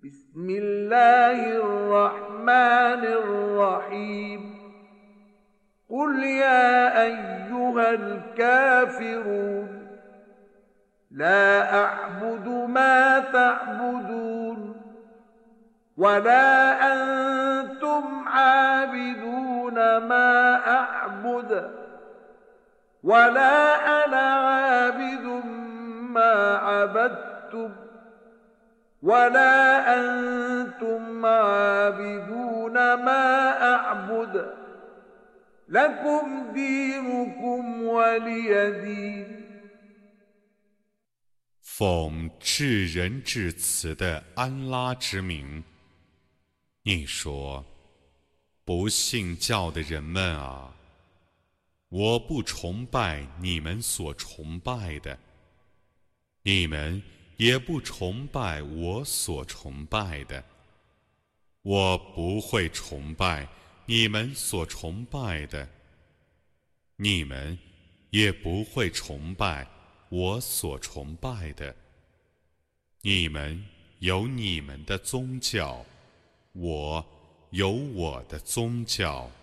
بسم الله الرحمن الرحيم قل يا أيها الكافرون لا أعبد ما تعبدون ولا أنتم عابدون ما أعبد ولا أنا عابد ما عبدتم ولا أنتم عابدون ما أعبد لكم دينكم ولي دين 奉至仁至慈的安拉之名，你说：不信教的人们啊，我不崇拜你们所崇拜的，你们也不崇拜我所崇拜的。我不会崇拜你们所崇拜的，你们也不会崇拜我所崇拜的。你们有你们的宗教，我有我的宗教。